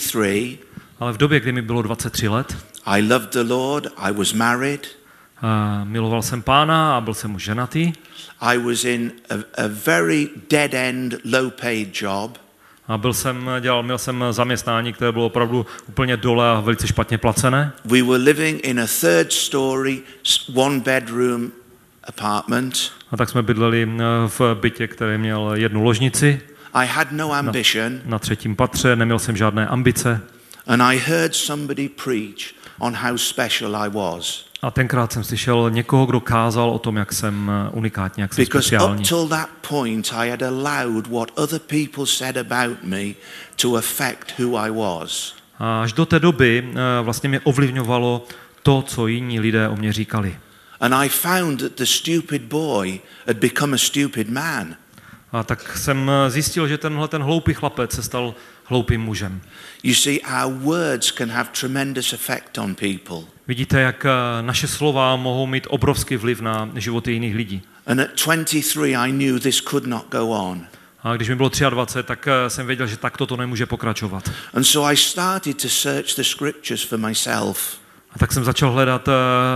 23, ale v době, kdy mi bylo 23 let, I loved the Lord, I was married. Miloval jsem Pána a byl jsem už ženatý. I was in a very dead-end, low-paid job. A měl jsem zaměstnání, které bylo opravdu úplně dole a velice špatně placené. We were living in a 3rd story, 1-bedroom apartment. A tak jsme bydleli v bytě, který měl 1 ložnici. I had no ambition. Na 3. patře, neměl jsem žádné ambice. And I heard somebody preach on how special I was. A tenkrát jsem slyšel někoho, kdo kázal o tom, jak jsem unikátní, jak jsem speciální. Because up till that point I had allowed what other people said about me to affect who I was. A až do té doby vlastně mě ovlivňovalo to, co jiní lidé o mě říkali. And I found that the stupid boy had become a stupid man. A tak jsem zjistil, že ten hloupý chlapec se stal hloupým mužem. You see, our words can have tremendous effect on people. Vidíte, jak naše slova mohou mít obrovský vliv na životy jiných lidí. And at 23 I knew this could not go on. A když mi bylo 23, tak jsem věděl, že takto to nemůže pokračovat. And so I started to search the scriptures for myself. A tak jsem začal hledat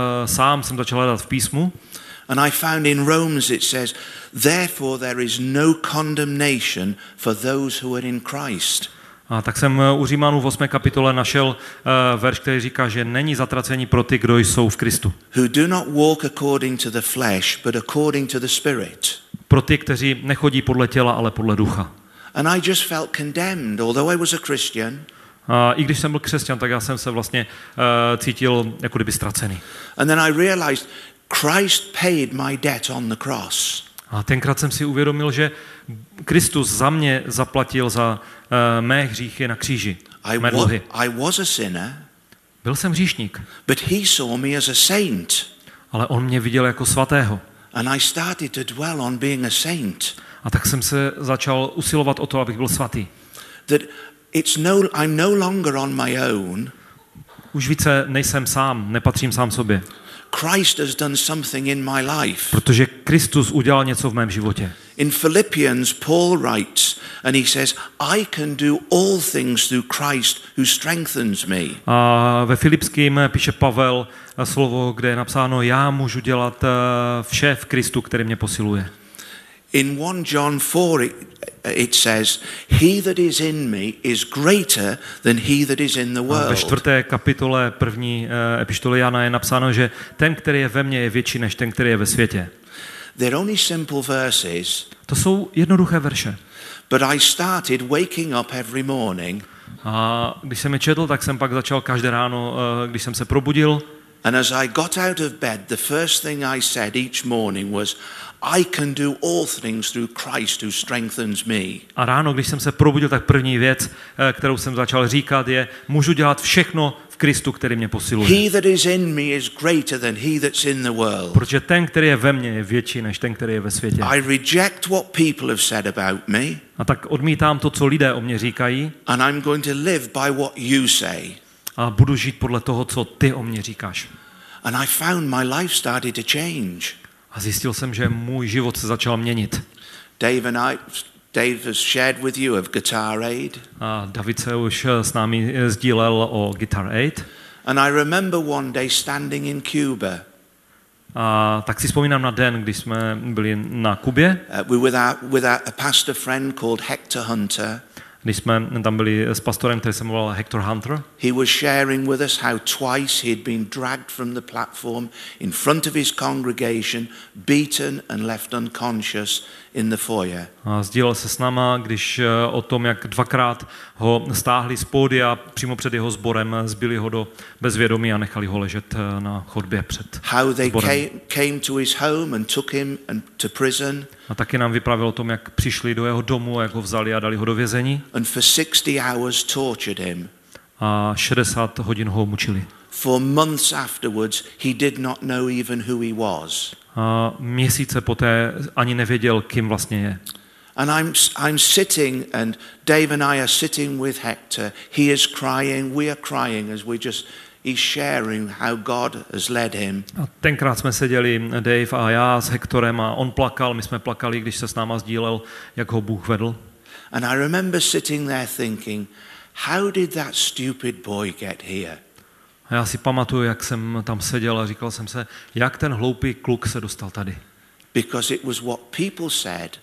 jsem začal hledat v písmu. And I found in Romans it says, therefore there is no condemnation for those who are in Christ. A tak jsem u Římanů v 8. kapitole našel verš, který říká, že není zatracení pro ty, kdo jsou v Kristu. Who do not walk according to the flesh, but according to the Spirit. Pro ty, kteří nechodí podle těla, ale podle ducha. And I just felt condemned, although I was a Christian. A i když jsem byl křesťan, tak já jsem se vlastně cítil jako kdyby ztracený. And then I realized Christ paid my debt on the cross. A tenkrát jsem si uvědomil, že Kristus za mě zaplatil za mé hříchy na kříži. Mé dluhy. I was a sinner. Byl jsem hříšník. But he saw me as a saint. Ale on mě viděl jako svatého. And I started to dwell on being a saint. A tak jsem se začal usilovat o to, abych byl svatý. That I'm no longer on my own. Už více nejsem sám, nepatřím sám sobě. Christ has done something in my life. Protože Kristus udělal něco v mém životě. In Philippians, Paul writes, and he says, I can do all things through Christ who strengthens me. A ve Filipským píše Pavel slovo, kde je napsáno, já můžu dělat vše v Kristu, který mě posiluje. In 1 John 4 it says, he that is in me is greater than he that is in the world. A ve 4. kapitole 1. epištoly Jana je napsáno, že ten, který je ve mně, je větší než ten, který je ve světě. They're only simple verses. To jsou jednoduché verše. But I started waking up every morning. A když jsem je četl, tak jsem pak začal každé ráno, když jsem se probudil. And as I got out of bed, the first thing I said each morning was, I can do all things through Christ who strengthens me. A ráno, když jsem se probudil, tak první věc, kterou jsem začal říkat, je, můžu dělat všechno v Kristu, který mě posiluje. He that is in me is greater than he that's in the world. Protože ten, který je ve mně, je větší než ten, který je ve světě. I reject what people have said about me. A tak odmítám to, co lidé o mě říkají. And I'm going to live by what you say. A budu žít podle toho, co ty o mě říkáš. And I found my life started to change. A zjistil jsem, že můj život se začal měnit. Dave has shared with you of Guitar Aid. A David se už s námi sdílel o Guitar Aid. And I remember one day standing in Cuba. A tak si vzpomínám na den, když jsme byli na Kubě. We were with a pastor friend called Hector Hunter. Když jsme tam byli s pastorem, který se jmenoval Hector Hunter. He was sharing with us how twice he had been dragged from the platform in front of his congregation, beaten and left unconscious in the foyer. A sdílel se s náma, když o tom, jak dvakrát ho stáhli z pódia přímo před jeho sborem, zbili ho do bezvědomí a nechali ho ležet na chodbě před How they sborem. came to his home and took him to prison. A taky nám vyprávěl o tom, jak přišli do jeho domu, jak ho vzali a dali ho do vězení. And for 60 hours tortured him. A 60 hodin ho mučili. For months afterwards, he did not know even who he was. A měsíce poté ani nevěděl, kým vlastně je. And I'm sitting, and Dave and I are sitting with Hector. He is crying, we are crying as he's sharing how God has led him. A tenkrát jsme seděli, Dave a já s Hectorem, a on plakal, my jsme plakali, když se s náma sdílel, jak ho Bůh vedl. And I remember sitting there thinking, how did that stupid boy get here? A já si pamatuju, jak jsem tam seděl a říkal jsem se, jak ten hloupý kluk se dostal tady. Because it was what people said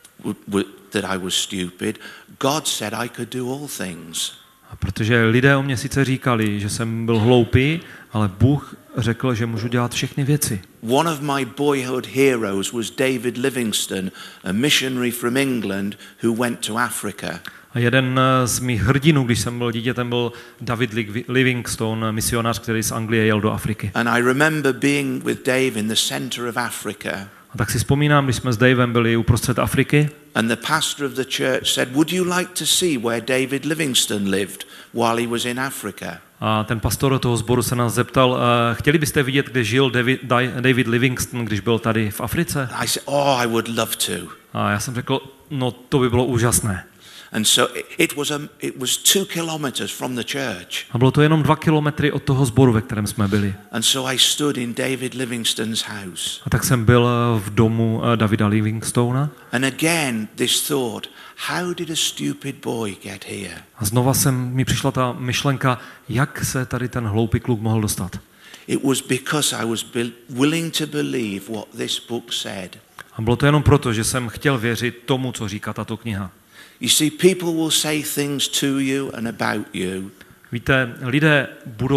that I was stupid. God said I could do all things. A protože lidé o mě sice říkali, že jsem byl hloupý, ale Bůh řekl, že můžu dělat všechny věci. One of my boyhood heroes was David Livingstone, a missionary from England who went to Africa. A jeden z mých hrdinů, když jsem byl dítětem, byl David Livingstone, misionář, který z Anglie jel do Afriky. And I remember being with Dave in the center of Africa. A tak si vzpomínám, když jsme s Davem byli uprostřed Afriky. And the pastor of the church said, would you like to see where David Livingstone lived while he was in Africa? A ten pastor toho sboru se nás zeptal, chtěli byste vidět, kde žil David Livingstone, když byl tady v Africe? I said, oh, I would love to. A já jsem řekl, no to by bylo úžasné. And so it was 2 kilometers from the church. A bylo to jenom 2 kilometry od toho sboru, ve kterém jsme byli. And so I stood in David Livingstone's house. A tak jsem byl v domu Davida Livingstona. And again this thought, how did a stupid boy get here? A znova mi přišla ta myšlenka, jak se tady ten hloupý kluk mohl dostat. It was because I was willing to believe what this book said. A bylo to jenom proto, že jsem chtěl věřit tomu, co říká tato kniha. You see, people will say things to you and about you. Víte, lidé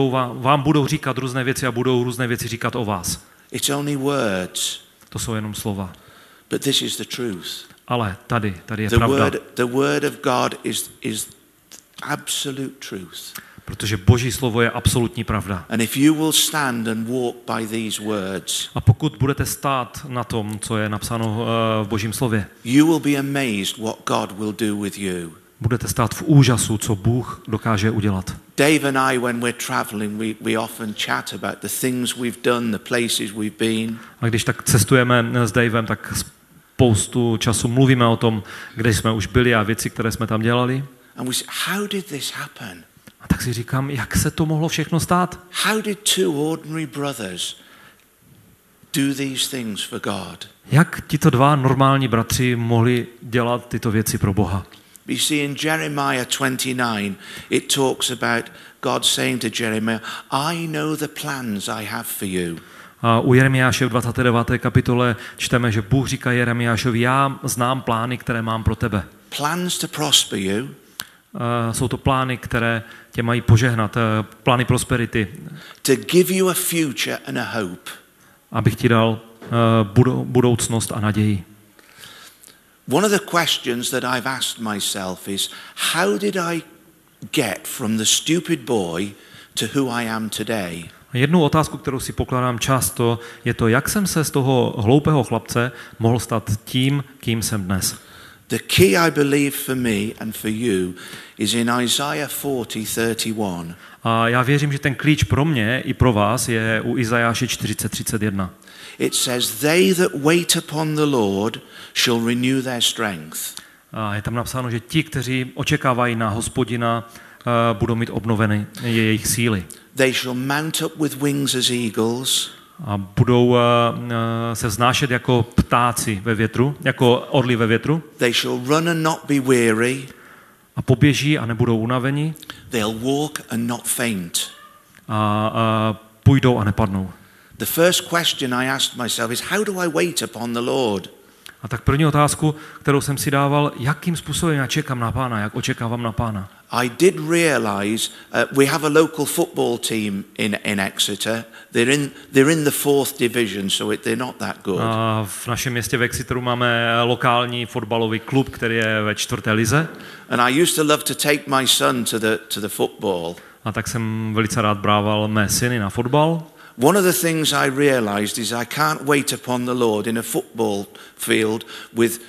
vám budou říkat různé věci a budou různé věci říkat o vás. It's only words. To jsou jenom slova. But this is the truth. Ale tady je pravda. The word of God is absolute truth. Protože Boží slovo je absolutní pravda. And if you will stand and walk by these words, a pokud budete stát na tom, co je napsáno v Božím slově, you will be amazed what God will do with you. Budete stát v úžasu, co Bůh dokáže udělat. Dave and I, when we're traveling, we often chat about the things we've done, the places we've been. A když tak cestujeme s Davem, tak spoustu času mluvíme o tom, kde jsme už byli a věci, které jsme tam dělali. And we say, how did this happen? A tak si říkám, jak se to mohlo všechno stát? How did 2 ordinary brothers do these things for God? Jak tito 2 normální bratři mohli dělat tyto věci pro Boha? You see, in Jeremiah 29, it talks about God saying to Jeremiah, I know the plans I have for you. A u Jeremiáše v 29. kapitole čteme, že Bůh říká Jeremiášovi, já znám plány, které mám pro tebe. Plans to prosper you. Jsou to plány, které tě mají požehnat, plány prosperity. To give you a future and a hope. Abych ti dal budoucnost a naději. One of the questions that I've asked myself is, how did I get from the stupid boy to who I am today? Jednu otázku, kterou si pokládám často, je to, jak jsem se z toho hloupého chlapce mohl stát tím, kým jsem dnes. The key, I believe, for me and for you is in Isaiah 40:31. A já věřím, že ten klíč pro mě i pro vás je u Izajáše 40:31. It says, they that wait upon the Lord shall renew their strength. A je tam napsáno, že ti, kteří očekávají na Hospodina, budou mít obnoveny jejich síly. They shall mount up with wings as eagles. A budou se vznášet jako ptáci ve větru, jako orly ve větru. They shall run and not be weary. A poběží a nebudou unavení. They'll walk and not faint. A půjdou a nepadnou. The first question I asked myself is, how do I wait upon the Lord? A tak první otázku, kterou jsem si dával, jakým způsobem já čekám na Pána, jak očekávám na Pána. I did realize we have a local football team in Exeter. They're in the 4th division, so they're not that good. A v našem městě v Exeteru máme lokální fotbalový klub, který je ve 4. lize. And I used to love to take my son to the football. A tak jsem velice rád brával mé syny na fotbal. One of the things I realized is I can't wait upon the Lord in a football field with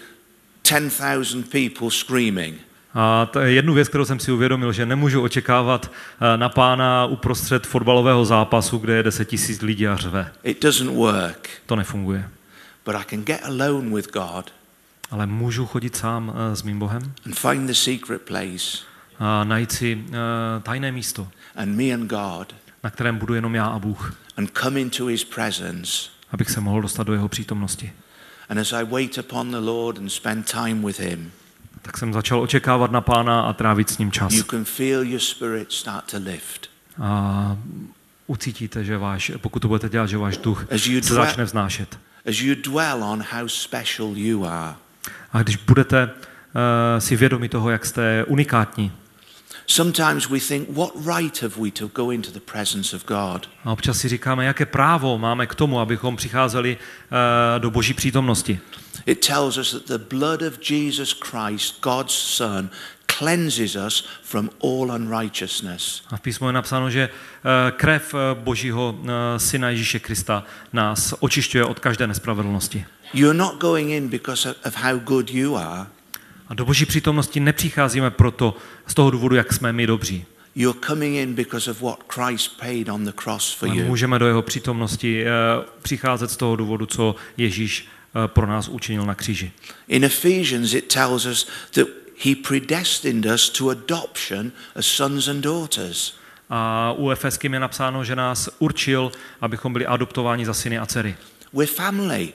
10,000 people screaming. A jednu věc, kterou jsem si uvědomil, že nemůžu očekávat na Pána uprostřed fotbalového zápasu, kde je 10 000 lidí a řve. It doesn't work. To nefunguje. But I can get alone with God. Ale můžu chodit sám s mým Bohem And find the secret place. A najít si tajné místo, And me and God. na kterém budu jenom já a Bůh. And come into his presence. Abych se mohl dostat do jeho přítomnosti. And as I wait upon the Lord and spend time with him, tak jsem začal očekávat na Pána a trávit s ním čas. you can feel your spirit start to lift. A ucítíte, že pokud to budete dělat, že váš duch se začne vznášet. As you dwell on how special you are. A když budete si vědomi toho, jak jste unikátní. Sometimes we think, what right have we to go into the presence of God? A občas si říkáme, jaké právo máme k tomu, abychom přicházeli do Boží přítomnosti. It tells us that the blood of Jesus Christ, God's Son, cleanses us from all unrighteousness. A v písmu je napsáno, že krev Božího Syna Ježíše Krista nás očišťuje od každé nespravedlnosti. You're not going in because of how good you are. A do Boží přítomnosti nepřicházíme proto z toho důvodu, jak jsme my dobří. You're coming in because of what Christ paid on the cross for you. Můžeme do jeho přítomnosti přicházet z toho důvodu, co Ježíš pro nás učinil na kříži. In Ephesians it tells us that he predestined us to adoption as sons and daughters. A u Efeským je napsáno, že nás určil, abychom byli adoptováni za syny a dcery. We're family.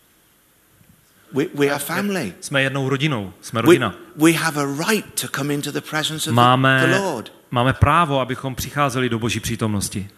We are family. Jsme jednou rodinou, jsme rodina. We have a right to come into the presence of the Lord. Máme právo, abychom přicházeli do Boží přítomnosti.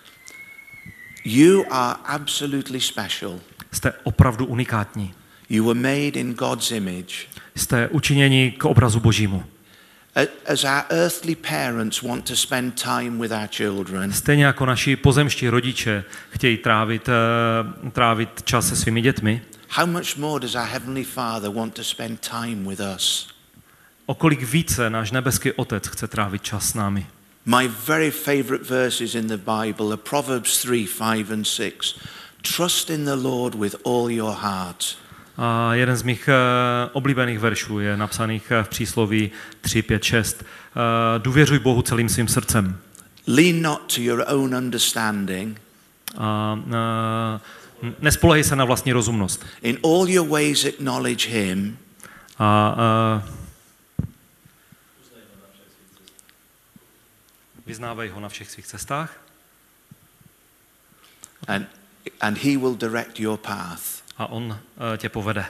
You are absolutely special. Jste opravdu unikátní. You were made in God's image. Jste učiněni k obrazu Božímu. As our earthly parents want to spend time with our children. Stejně jako naši pozemští rodiče chtějí trávit čas se svými dětmi. How much more does our heavenly Father want to spend time with us? O kolik více náš nebeský Otec chce trávit čas s námi. My very favorite verses in the Bible are Proverbs 3, 5 and 6. Trust in the Lord with all your heart. A jeden z mých oblíbených veršů je napsaných v přísloví 3, 5, 6. Důvěřuj Bohu celým svým srdcem. Lean not to your own understanding. Nespolehej se na vlastní rozumnost. In all your ways acknowledge him. Vyznávej ho na všech svých cestách. And he will direct your path. A on tě povede.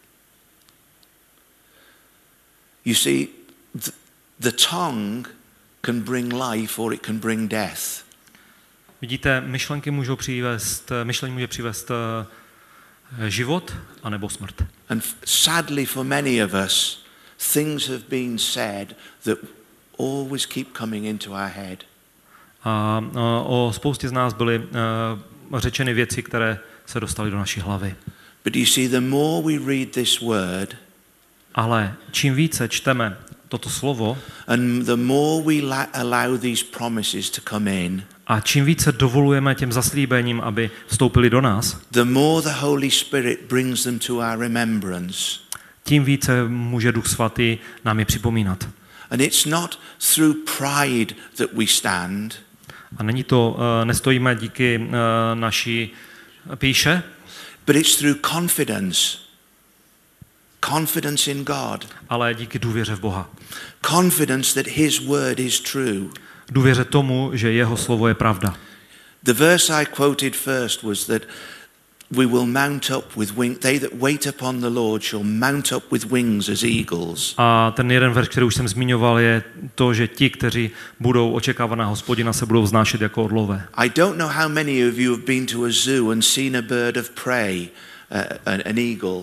You see, the tongue can bring life or it can bring death. Vidíte, myšlení může přivést život anebo smrt. And sadly for many of us, things have been said that always keep coming into our head. A o spoustě z nás byly řečeny věci, které se dostaly do naší hlavy. But you see, the more we read this word, ale čím více čteme toto slovo, and the more we allow these promises to come in, a čím více dovolujeme těm zaslíbením, aby vstoupili do nás, the more the Holy Spirit brings them to our remembrance. Tím více může Duch Svatý nám je připomínat. And it's not through pride that we stand. A nestojíme díky naší pýše, but it's through confidence. Confidence in God. ale díky důvěře v Boha. Confidence that his word is true. Důvěře tomu, že jeho slovo je pravda. The verse I quoted first was that we will mount up with wings. They that wait upon the Lord shall mount up with wings as eagles. A ten jeden verš, který už jsem zmiňoval, je to, že ti, kteří budou očekávat na Hospodina, se budou vznášet jako orlové. I don't know how many of you have been to a zoo and seen a bird of prey, an eagle.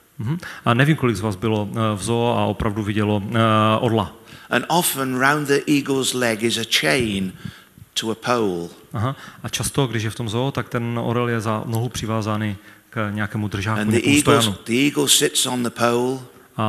A nevím, kolik z vás bylo v zoo a opravdu vidělo orla. And often round the eagle's leg is a chain to a pole. Aha. A často, když je v tom zoo, tak ten orel je za nohu přivázaný k nějakému držáku, And nějakému stojanu. the eagle sits on the pole. A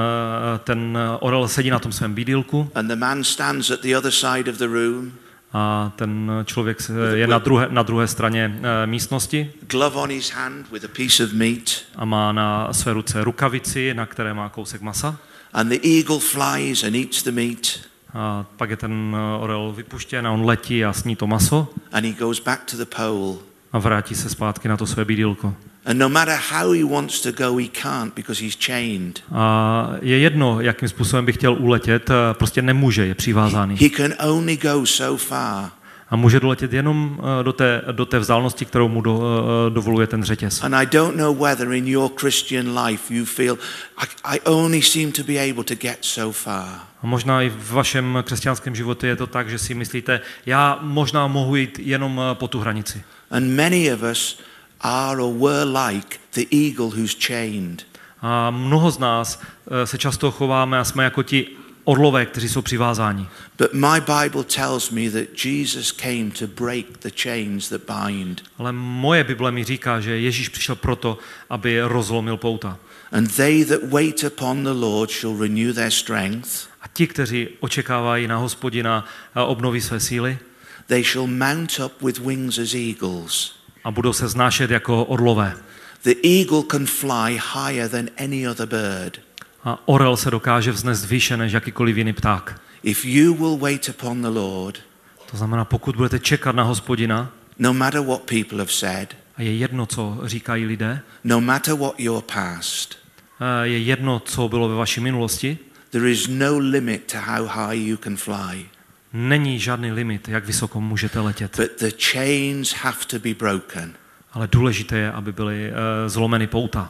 ten orel sedí na tom svém bídýlku And the man stands at the other side of the room. a ten člověk je na druhé straně místnosti Glove on his hand with a piece of meat. a má na své ruce rukavici, na které má kousek masa. And the eagle flies and eats the meat. A pak je ten orel vypuštěn a on letí a sní to maso And he goes back to the pole. a vrátí se zpátky na to své bídýlko. And no matter how he wants to go, he can't because he's chained. A je jedno, jakým způsobem by chtěl uletět, prostě nemůže, je přivázaný. He can only go so far. A může doletět jenom do té vzdálenosti, kterou mu dovoluje ten řetěz. And I don't know whether in your Christian life you feel, I only seem to be able to get so far. A možná i v vašem křesťanském životě je to tak, že si myslíte, já možná mohu jít jenom po tu hranici. And many of us are or were like the eagle who's chained. A mnoho z nás se často chováme a jsme jako ti orlové, kteří jsou přivázáni. But my Bible tells me that Jesus came to break the chains that bind. Ale moje Bible mi říká, že Ježíš přišel proto, aby rozlomil pouta. And they that wait upon the Lord shall renew their strength. A ti, kteří očekávají na Hospodina, obnoví své síly They shall mount up with wings as eagles. a budou se vznášet jako orlové. The eagle can fly higher than any other bird. A orel se dokáže vznést výše než jakýkoliv jiný pták. If you will wait upon the Lord, To znamená, pokud budete čekat na Hospodina, no matter what people have said, a je jedno, co říkají lidé, no matter what your past, je jedno, co bylo ve vaší minulosti, there is no limit to how high you can fly. není žádný limit, jak vysoko můžete letět. But the chains have to be broken. Ale důležité je, aby byly zlomeny pouta.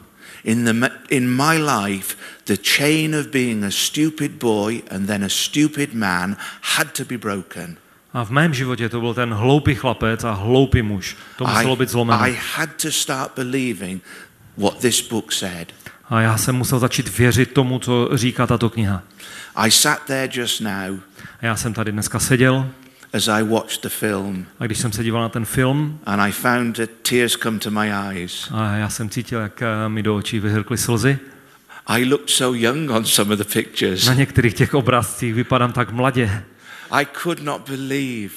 In my life, the chain of being a stupid boy and then a stupid man had to be broken. A v mém životě to byl ten hloupý chlapec a hloupý muž. To muselo být zlomeno. I had to start believing what this book said. A já jsem musel začít věřit tomu, co říká tato kniha. I sat there just now A já jsem tady dneska seděl as I watched the film, a když jsem se díval na ten film, and I found that tears come to my eyes. a já jsem cítil, jak mi do očí vyhrkly slzy. I looked so young on some of the pictures. Na některých těch obrázcích vypadám tak mladě. I could not believe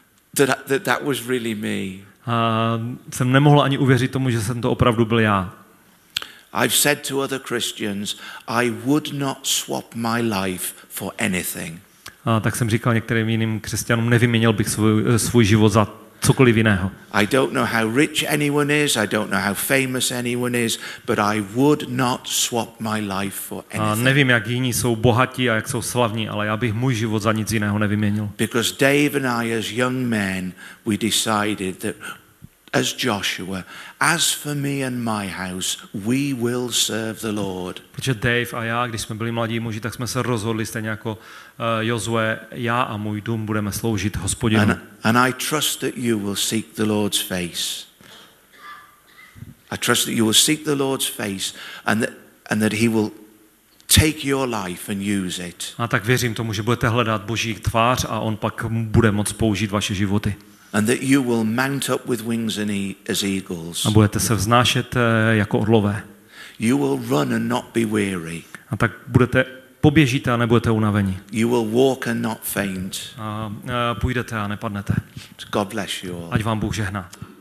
that was really me. A jsem nemohl ani uvěřit tomu, že jsem to opravdu byl já. I've said to other Christians, I would not swap my life for anything. A tak jsem říkal některým jiným křesťanům, nevyměnil bych svůj život za cokoliv jiného. I don't know how rich anyone is, I don't know how famous anyone is, but I would not swap my life for A anything. nevím, jak jiní jsou bohatí a jak jsou slavní, ale já bych můj život za nic jiného nevyměnil. Because Dave and I as young men, we decided that as Joshua, as for me and my house, we will serve the Lord. Protože Dave a já, když jsme byli mladí muži, tak jsme se rozhodli stejně jako Jozue, já a můj dům budeme sloužit Hospodinu. And I trust that you will seek the Lord's face. I trust that you will seek the Lord's face and that he will take your life and use it. A tak věřím tomu, že budete hledat Boží tvář a on pak bude moct použít vaše životy. And that you will mount up with wings as eagles. A budete se vznášet jako orlové. You will run and not be weary. A tak poběžíte a nebudete unavení. You will walk and not faint. A půjdete a nepadnete. God bless you all. Ať vám Bůh žehná.